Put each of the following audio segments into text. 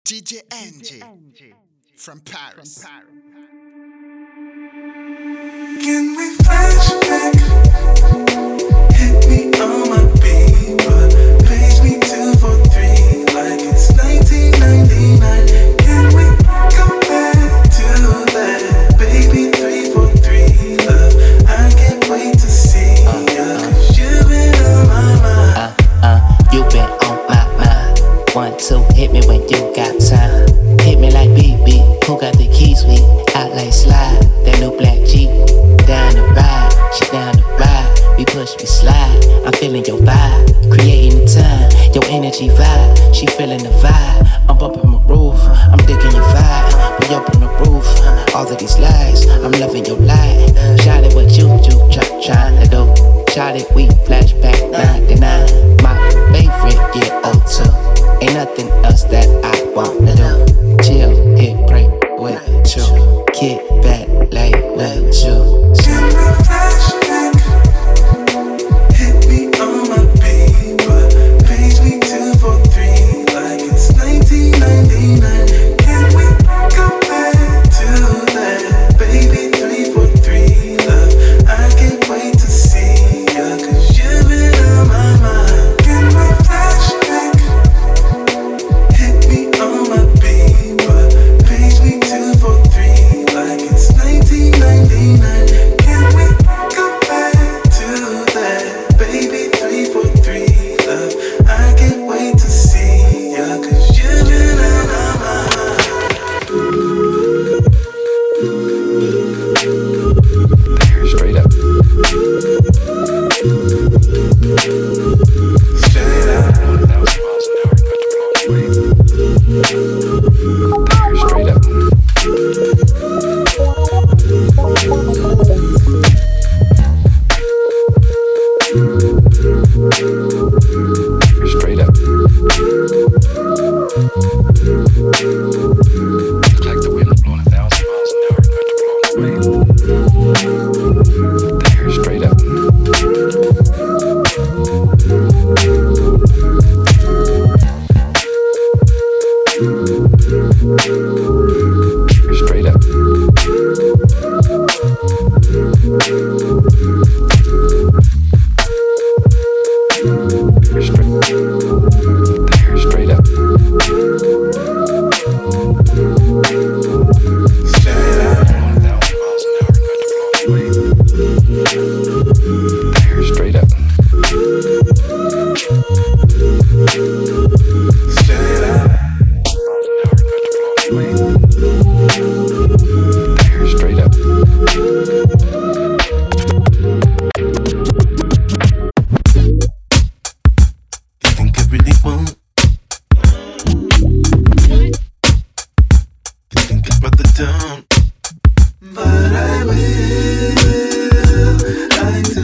DJ NG from Paris. Can we flashback? Hit me on my beat, but page me 243 like it's 1999. Can we go back to that? Baby 343 love. I can't wait to see ya, 'cause you've been on my mind. You been on my mind. 1, 2, hit me when you got time. Hit me like BB, who got the keys? We out like slide. That new black Jeep, down the ride. She down the ride. We push, we slide. I'm feeling your vibe, creating the time. Your energy vibe, she feeling the vibe. I'm up on my roof, I'm digging your vibe. We up on the roof, all of these lies. I'm loving your light. Shout it what you trying to do. Shout it, we flashback 99. My favorite year 02. Ain't nothing else that I wanna do. Chill, hit, break with you. Kick back, lay with you. Can we flashback? Hit me on my beat, but page me 243 like it's 1999. Can we go back to that? Baby 343 love. I can't wait to see ya, 'cause you've been on my mind. Can we flashback? Hit me on my beat, but page me 243 like it's 1999. Can we go back to that? Baby 343 love. I can't wait to see ya, 'cause you've been on my mind. Straight up. Straight up. 1,000 miles an hour, cut your straight up. Straight up. Looks like the wind blowing 1,000 miles an hour, cut your straight up. Straight up. Straight up. Straight up. 1,000 miles an hour, straight up. Straight up. Straight up. You think I really won't? You think I'd rather don't? But I will. I do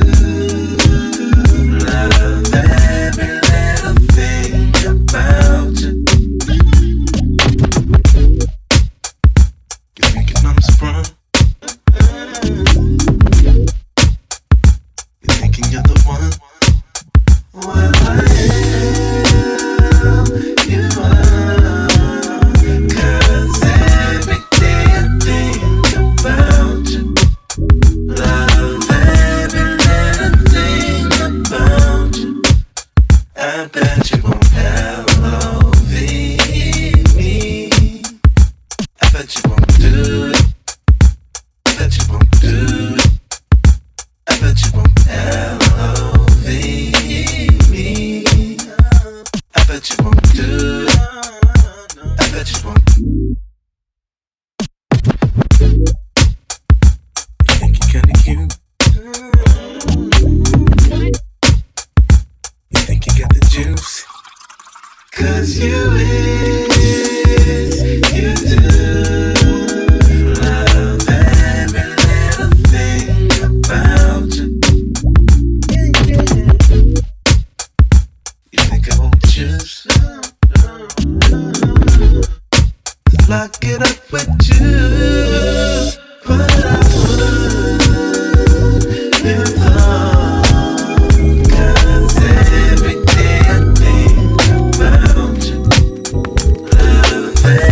love every little thing about you. You're thinking I'm sprung. You're thinking you're the one. Well, I am. You are. 'Cause every day I think about you. Love every little thing about you. I bet you won't LOV me. I bet you won't do it. I bet you won't do it. I bet you won't LOV me. I bet you won't do it. I bet you won't. You think you're kinda cute? You think you got the juice? 'Cause you do love every little thing about you. You think I won't choose? Lock it up with you, but I would if long. 'Cause every day I think about you. Love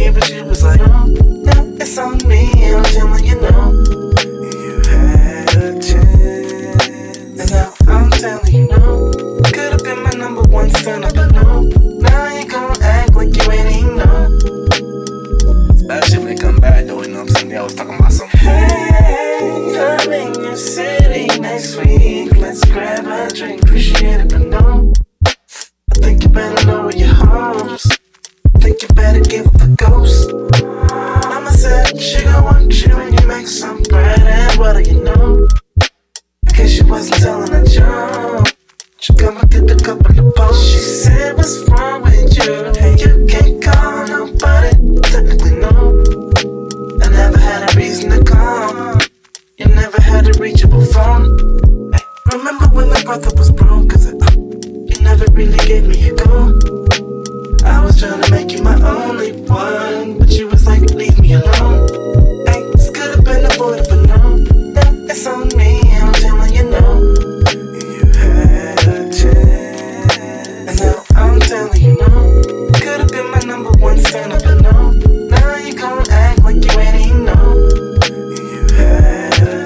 you, but you was like, oh, now it's on me, and I'm telling you no. You had a chance, and now I'm telling you no. Could've been my number one stunner, but no. Now you gon' act like you ain't even know. It's bad shit when it come back, though, you know what I'm saying? I was talking about something. Hey, I'm in your city next week. Let's grab a drink, appreciate it, but no. I think you better lower your hopes. I think you better give up the ghost. Mama said she gon' want you when you make some bread and butter, you know. I guess she wasn't telling a joke. She come and get a couple of posts. She said, what's wrong with you? Hey, you can't call nobody. Technically, no. I never had a reason to call. You never had a reachable phone. Hey, remember when my brother was broke? Cause you never really gave me a go. I was trying to make you my only one, but you was like, leave me alone. Hey, this could've been avoided, but no. Now it's on me, and I'm telling you no. You had a chance, and now I'm telling you no. Could've been my number one stunner, but no. Now you gon' act like you ain't even know. You had a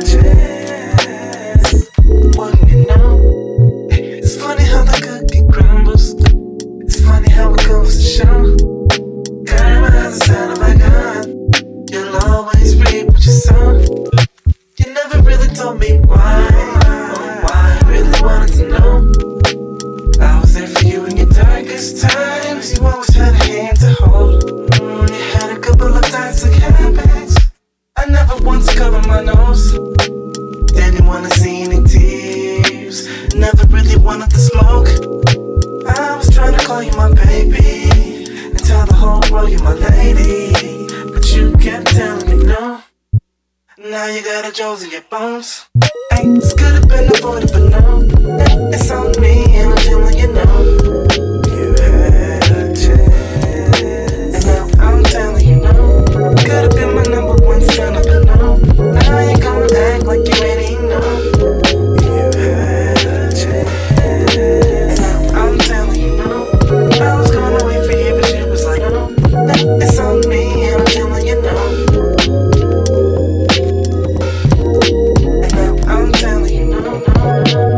chance, wouldn't you know? It's funny how the cookie crumbles. It's funny how it goes to show. Karma has a sound of a gun. You'll always reap what you sow. You never really told me why. Oh, why I really wanted to know. I was there for you in your darkest times. You always had a hand to hold. You had a couple of toxic habits. I never once covered my nose. Didn't wanna see any tears. Never really wanted to smoke. I was trying to call you my baby and tell the whole world you're my lady, but you kept telling me no. Now you got a Joe's in your bones. Hey, this could've been avoided, but no. It's on me, and I'm telling you no. You had a chance, and now I'm telling you no. Could've been my number one stunner, but no. Now you gon' act like you ain't even know. You had a chance, and now I'm telling you no. I was gonna wait for you, but you was like, no. It's on me, and I'm telling you no. And now I'm telling you no, no.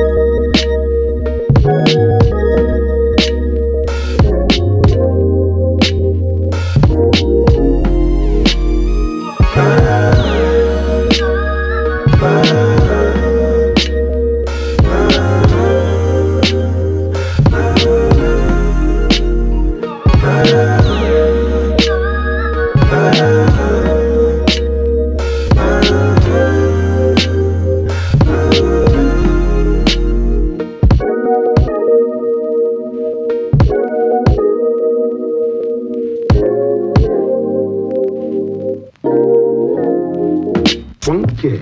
Funky.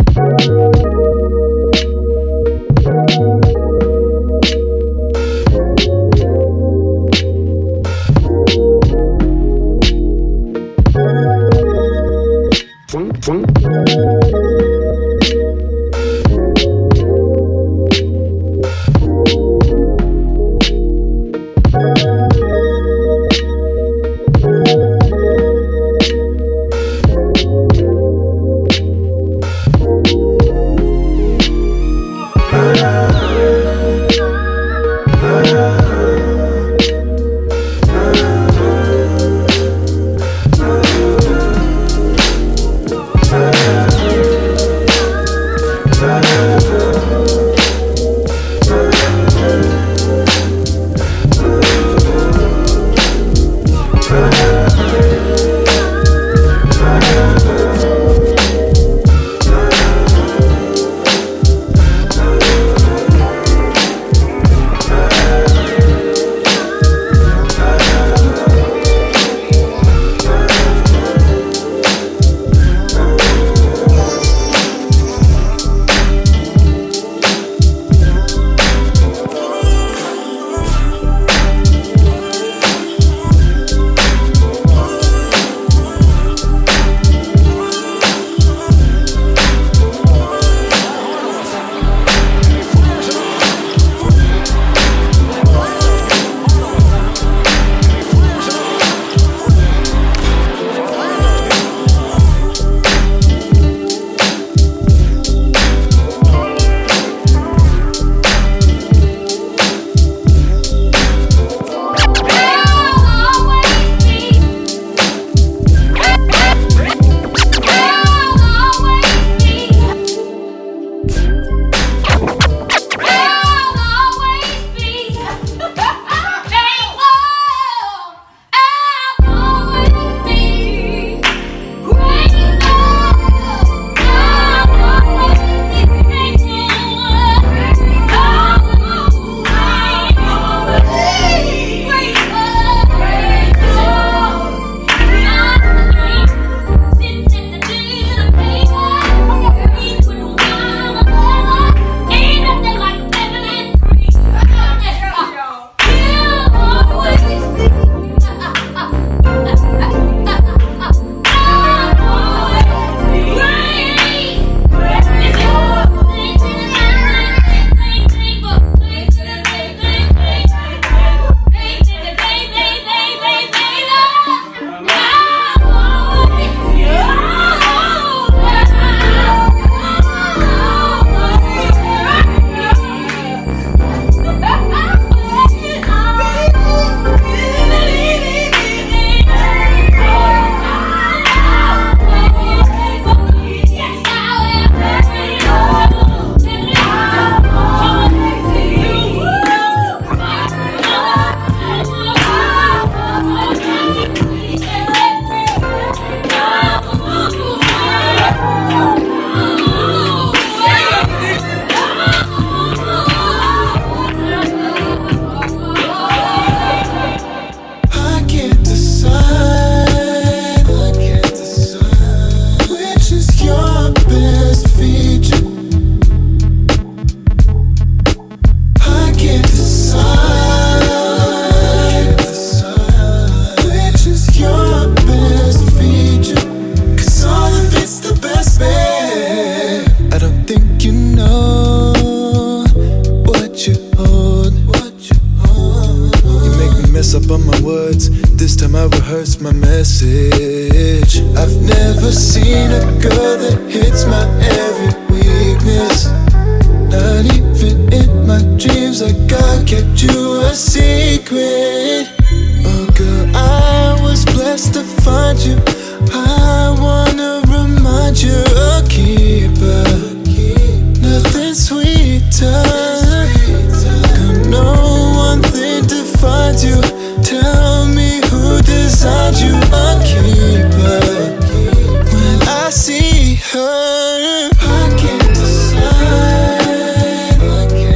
dosage. I've never seen a girl that hits my every weakness. Not even in my dreams, like God kept you a secret. Oh girl, I was blessed to find you. I wanna remind you, a keeper. Nothing sweeter. I know one thing defines you. Tell me who designed you, a keeper. When I see her, I can't decide.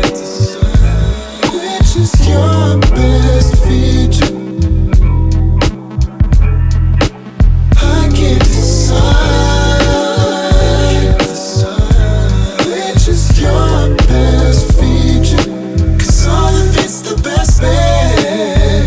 Which is your best feature. I can't decide. Which is your best feature. 'Cause all of it's the best bed.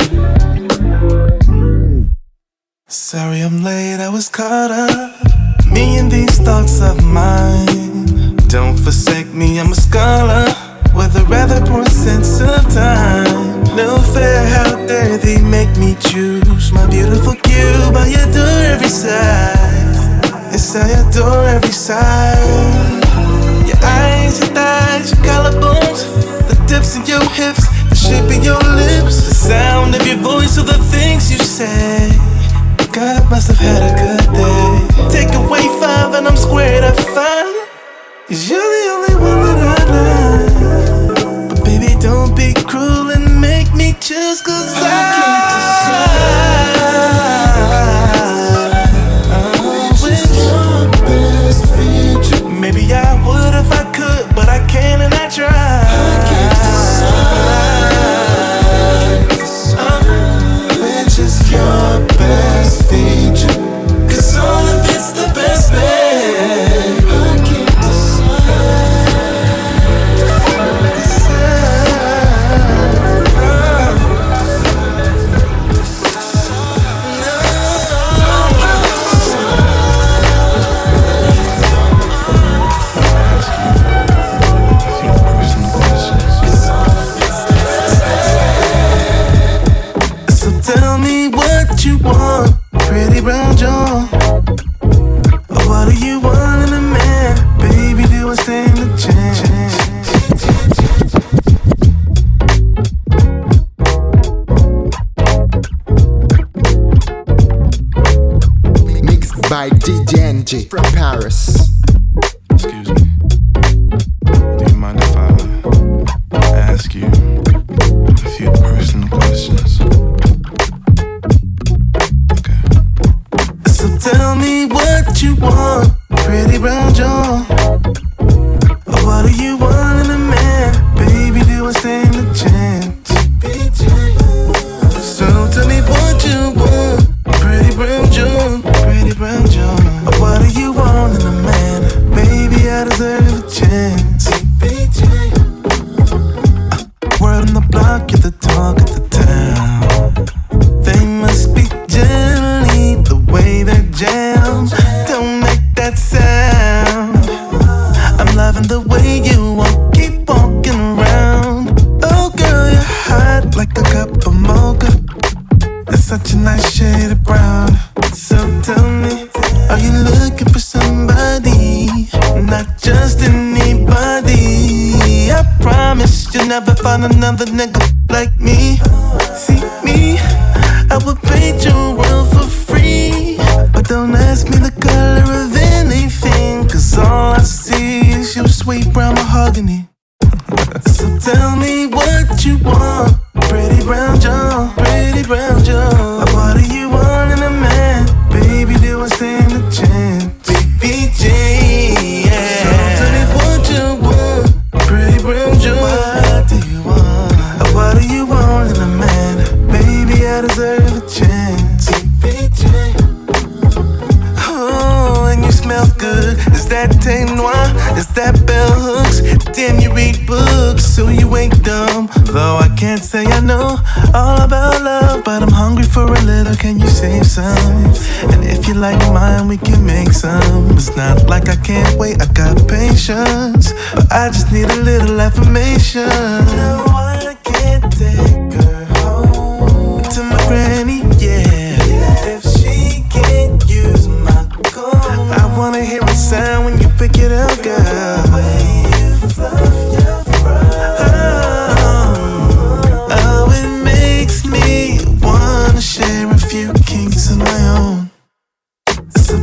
Sorry I'm late, I was caught up. Me and these thoughts of mine. Don't forsake me, I'm a scholar with a rather poor sense of time. No fair, how dare they make me choose my beautiful cube. I adore every side. Yes, I adore every side. Your eyes, your thighs, your collarbones, the dips in your hips, the shape of your lips, the sound of your voice, or the things you say. God must have had a good day. Take away 5 and I'm squared at 5. 'Cause you're the only one that I like. But baby, don't be cruel and make me choose. 'Cause I can't decide. Which your best feature. Maybe I would if I could, but I can't and I try. I can't decide. Which is your best feature. 'Cause all of it's the best, babe. I can't tell me what you want, pretty brown jaw. What do you want in a man? Baby, do I stand a chance? Mixed by DJ NG from Paris. Excuse me. Do you mind if I ask you a few personal questions? Okay. So tell me what you want, pretty brown jaw. What do you want in a man? Baby, do I stand a chance? So tell me what you want, pretty brown jaw, pretty brown jaw. What do you want in a man? Baby, I deserve a chance. Word on the block, you're the talk of the town. They must be jelly, the way they're jammed. Don't make that sound. I'm loving the way you walk, keep walking around. Oh girl, you're hot like a cup of mocha. That's such a nice shade of brown. So tell me, are you looking for somebody? Not just anybody. I promise you'll never find another nigga like me. See me, I would paint your world for free. But don't ask me the color of anything, 'cause all I see is your sweet brown mahogany. So tell me what you want, pretty brown jaw, pretty brown jaw. What do you want in a man? Baby, do I stand a chance? BBJ, yeah. So tell me what you want, pretty brown jaw. What do you want? What do you want in a man? Baby, I deserve a chance. BBJ. Oh, and you smell good. Is that Tay Noir? Is that bell hooks? Damn, you read books, so you ain't dumb. Though I can't say I know all about love, but I'm hungry for a little, can you save some? And if you like mine, we can make some. It's not like I can't wait, I got patience, but I just need a little affirmation. No, I can't take her home to my granny, yeah. If she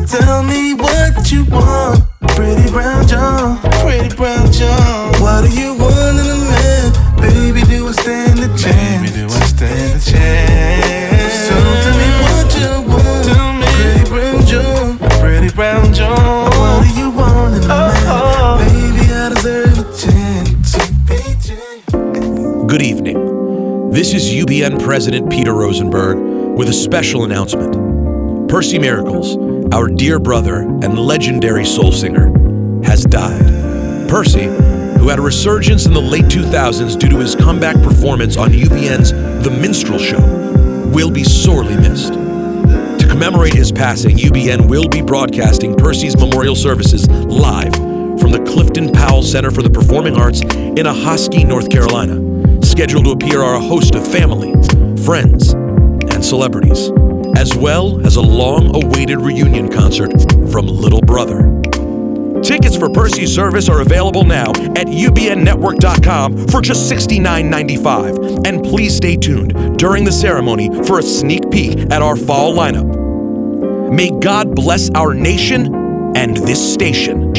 Tell me what you want, pretty brown John, pretty brown John. What do you want in a man? Baby, do I stand a chance? Baby, do I stand a chance? So tell me what you want, tell me. Pretty brown John, pretty brown John. What do you want in a man? Baby, I deserve a chance to be changed. Good evening. This is UBN President Peter Rosenberg with a special announcement. Percy Miracles, our dear brother and legendary soul singer, has died. Percy, who had a resurgence in the late 2000s due to his comeback performance on UBN's The Minstrel Show, will be sorely missed. To commemorate his passing, UBN will be broadcasting Percy's memorial services live from the Clifton Powell Center for the Performing Arts in Ahoskie, North Carolina. Scheduled to appear are a host of family, friends, and celebrities, as well as a long-awaited reunion concert from Little Brother. Tickets for Percy's service are available now at ubnnetwork.com for just $69.95. And please stay tuned during the ceremony for a sneak peek at our fall lineup. May God bless our nation and this station.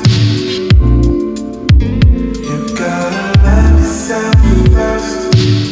First.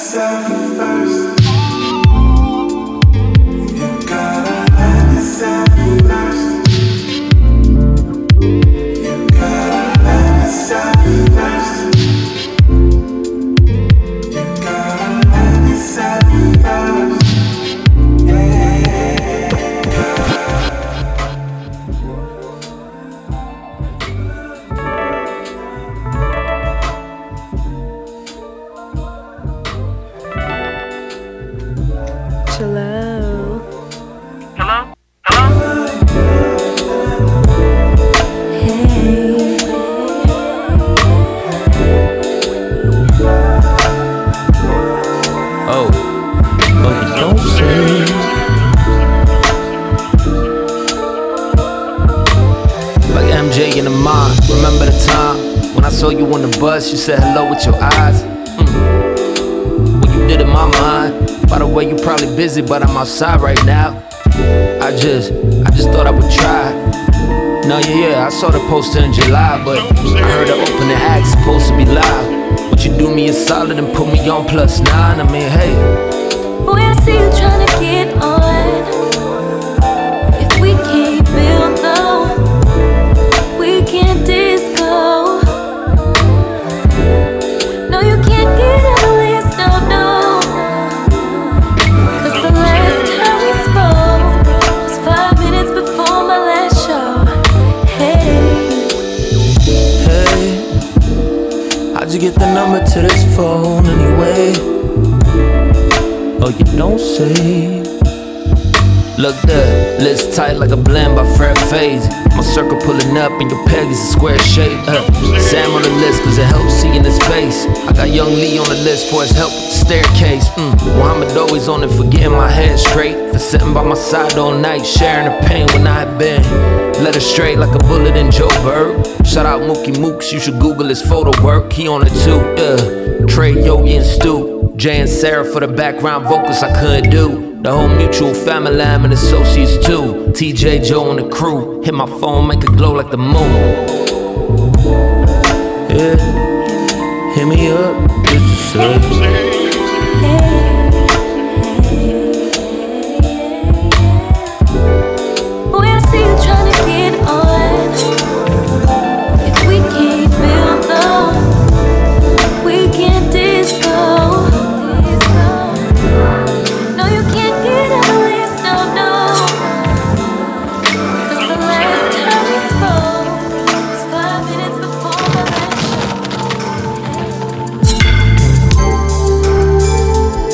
yourself first. You gotta love yourself first. You gotta love yourself first. You gotta love yourself first. Remember the time when I saw you on the bus, you said hello with your eyes. What you did in my mind. By the way, you probably busy, but I'm outside right now. I just thought I would try. No, yeah, I saw the poster in July, but I heard the opening act supposed to be live. Would you do me a solid and put me on +9? I mean, hey. Boy, I see you tryna get on. If we can't build though, we can't disco. No, you can't get on the list, no. Cause the last time we spoke was 5 minutes before my last show. Hey, how'd you get the number to this phone anyway? Oh, you don't say. Look there, list tight like a blend by Fred Phase. My circle pulling up and your peg is a square shape. Sam on the list cause it helps seeing his face. I got Young Lee on the list for his help with the staircase. Muhammad always on it for getting my head straight. For sitting by my side all night, sharing the pain when I had been led straight like a bullet in Joe Berg. Shout out Mookie Mooks, you should Google his photo work. He on it too, Trey, Yogi and Stu. Jay and Sarah for the background vocals I couldn't do. The whole mutual family and associates too. TJ, Joe and the crew. Hit my phone, make it glow like the moon. Yeah, hit me up, just to say. boy, I see you tryna get on. If we can't build though, we can't disco. No, you can't get on the list, no. Cause the last time we spoke was 5 minutes before my last show.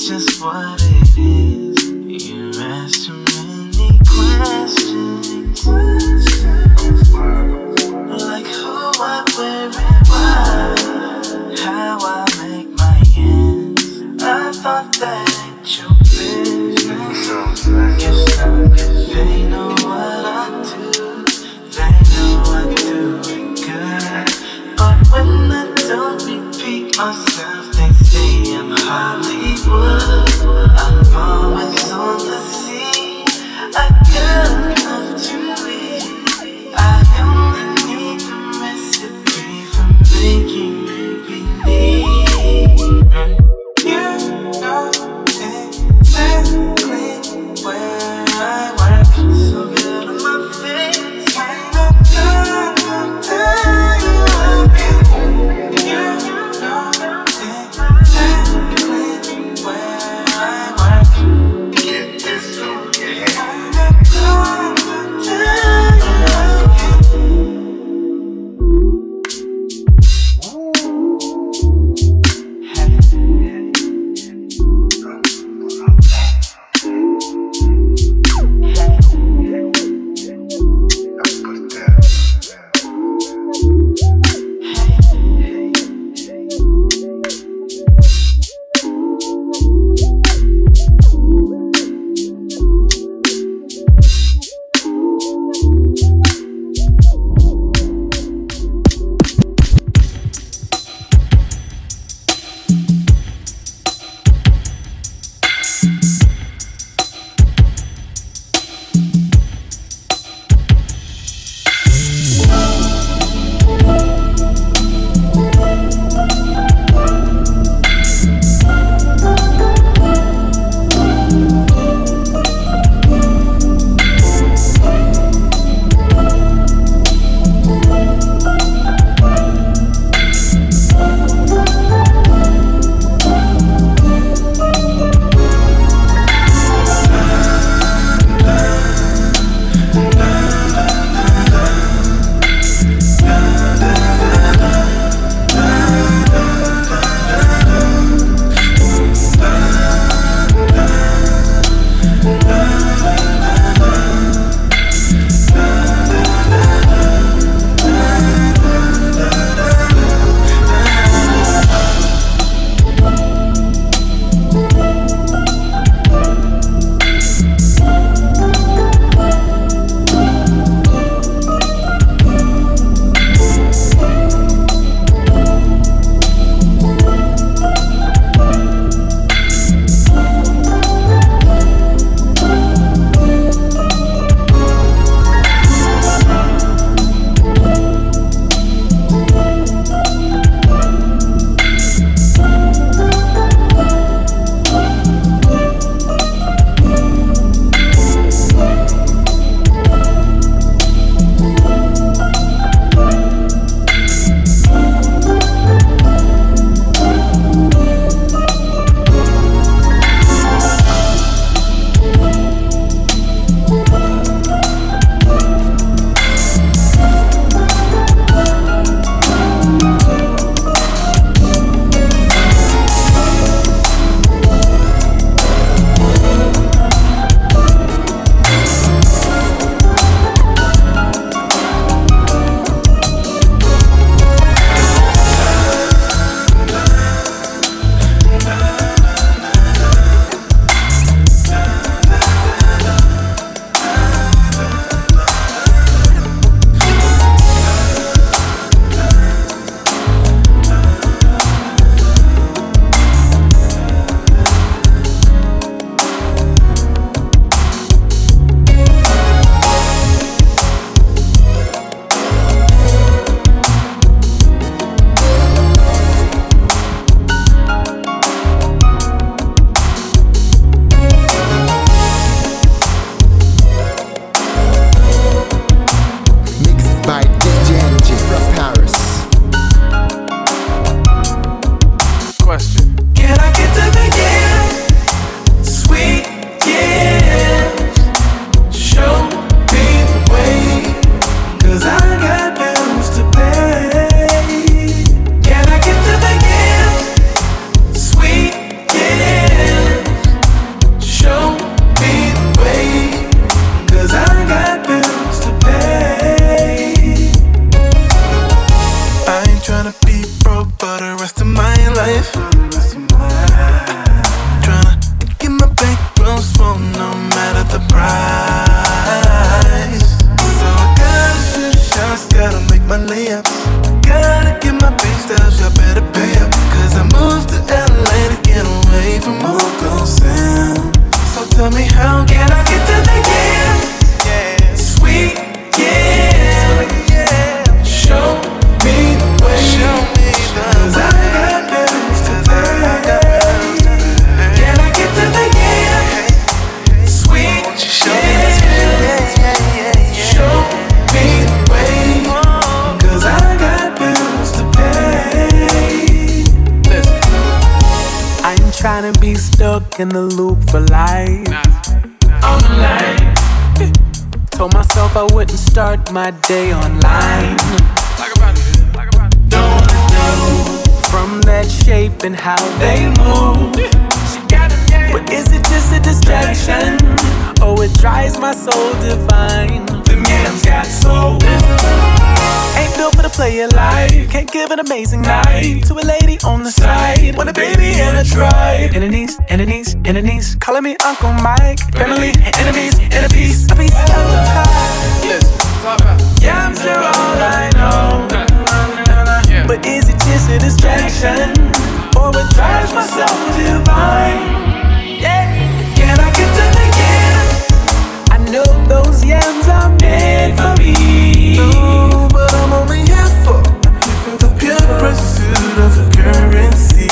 just what it is. You ask too many questions, like who, what, where, and why, how I make my ends. I thought that ain't your business. Guess not, 'cause they know what I do. They know I do it good. But when I don't repeat myself, they say I'm Hollywood. I'm always on the scene. I got enough to eat. I only need the recipe for making me believe. You know exactly where I work. So get on my face when I'm done. I'll tell you again. You know exactly where I Tell me how can I get to the yeah, sweet yeah. Show me the way. Cause I got bills to pay. Can I get to the yeah, sweet yeah. Show me the way. Cause I got bills to pay. Listen, I ain't tryna be stuck in the loop for life. On the line. Told myself I wouldn't start my day online. Don't know from that shape and how they move. But is it just a distraction? Oh, it drives my soul divine. The man's got soul. Ain't built for the player life. Can't give an amazing night to a lady on the side. Want a baby and a tribe. Enemies, calling me Uncle Mike. Family, enemies, in a piece of the pie. Yeah, I'm sure all I know. But is it just a distraction? Or it drives my soul divine? Yeah. Can I get to the yams? I know those yams are meant for me. No, but I'm only here for the pure pursuit of the currency.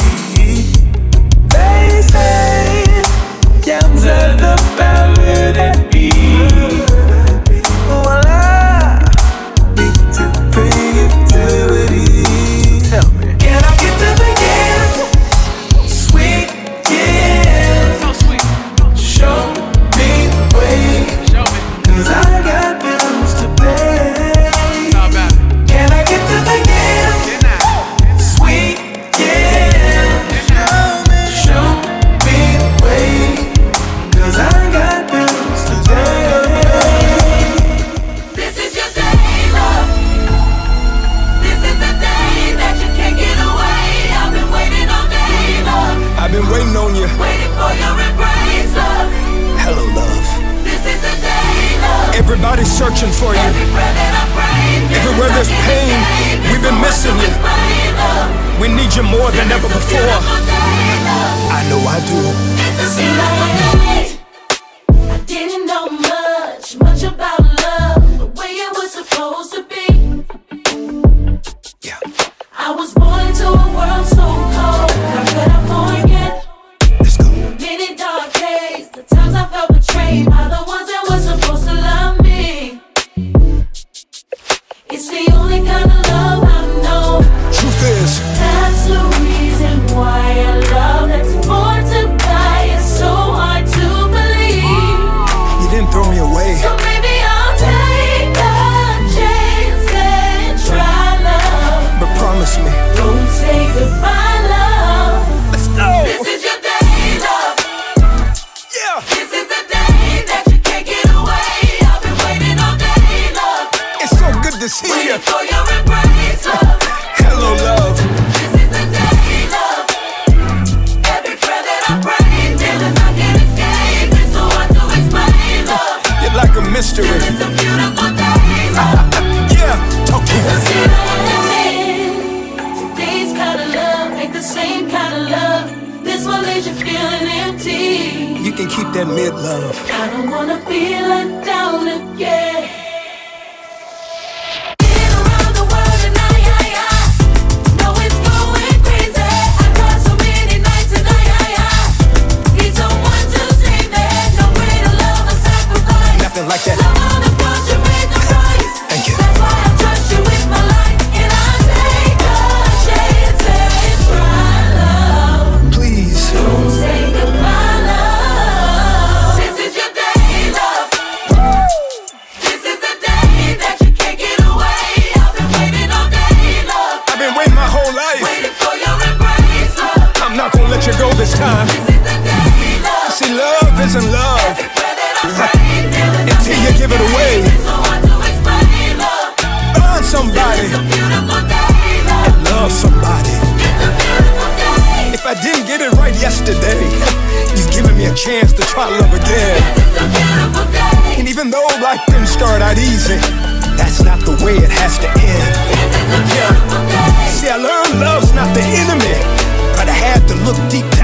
They say yams are the power that be. Well, I need to pay utilities. Tell me, can I get to the yams? Sweet yams. So sweet. Show me the way. Cause I got bills to pay. Can I get to the yams? Sweet yams. Show me the way. Cause I got bills to pay. This is your day, love. This is the day that you can't get away. I've been waiting all day, love. I've been waiting on you. Waiting for your embrace, love. Hello, love. This is the day, love. Everybody's searching for you. Every breath that I breathe, Everywhere there's pain, we've been missing you. We need you more than ever before. I know I do. I didn't know much about love, the way it was supposed to be. Yeah. I was born into a world so cold. How could I forget? Let's go. Many dark days, the times I felt betrayed by the ones that were supposed to love me. It's the only kind of love I know. Truth is, That's the reason why a love that's born to die is so hard to believe. you didn't throw me away. So maybe I'll take a chance and try love. But promise me. Don't say goodbye, love. Let's go. This is your day, love. Yeah. This is the day that you can't get away. I've been waiting all day, love. It's so good to see you. Waiting for your embrace, love. Hello, love. This is the day, love. Every breath that I breathe, feelings I can't escape. It's so hard to explain, love. You're like a mystery. It's a beautiful day, love. Yeah. Talk to me. Today's kind of love ain't the same kind of love. This one leaves you feeling empty. You can keep that mid love. I don't wanna be let down again. Been around the world and I know it's going crazy. I cried so many nights and I need someone to save me. No greater love or sacrifice. Nothing like that. Love on the cross, you paid the price. Thank you. That's why I trust you with my life, and I take a chance and try love. Please. Don't say goodbye, love. This is your day, love. This is the day that you can't get away. I've been waiting all day, love. I've been waiting my whole life. Waiting for your embrace, love. I'm not gonna let you go this time. This is the day, love. See, love isn't love Every breath that I breathe, feelings I until you give it away. It's so hard to explain, love. Find somebody It's a beautiful day, love. and love somebody. It's a beautiful day. If I didn't get it right yesterday, you've given me a chance to try love again. It's a beautiful day. And even though life didn't start out easy, that's not the way it has to end. It's a beautiful day. See, I learned love's not the enemy, but I had to look deep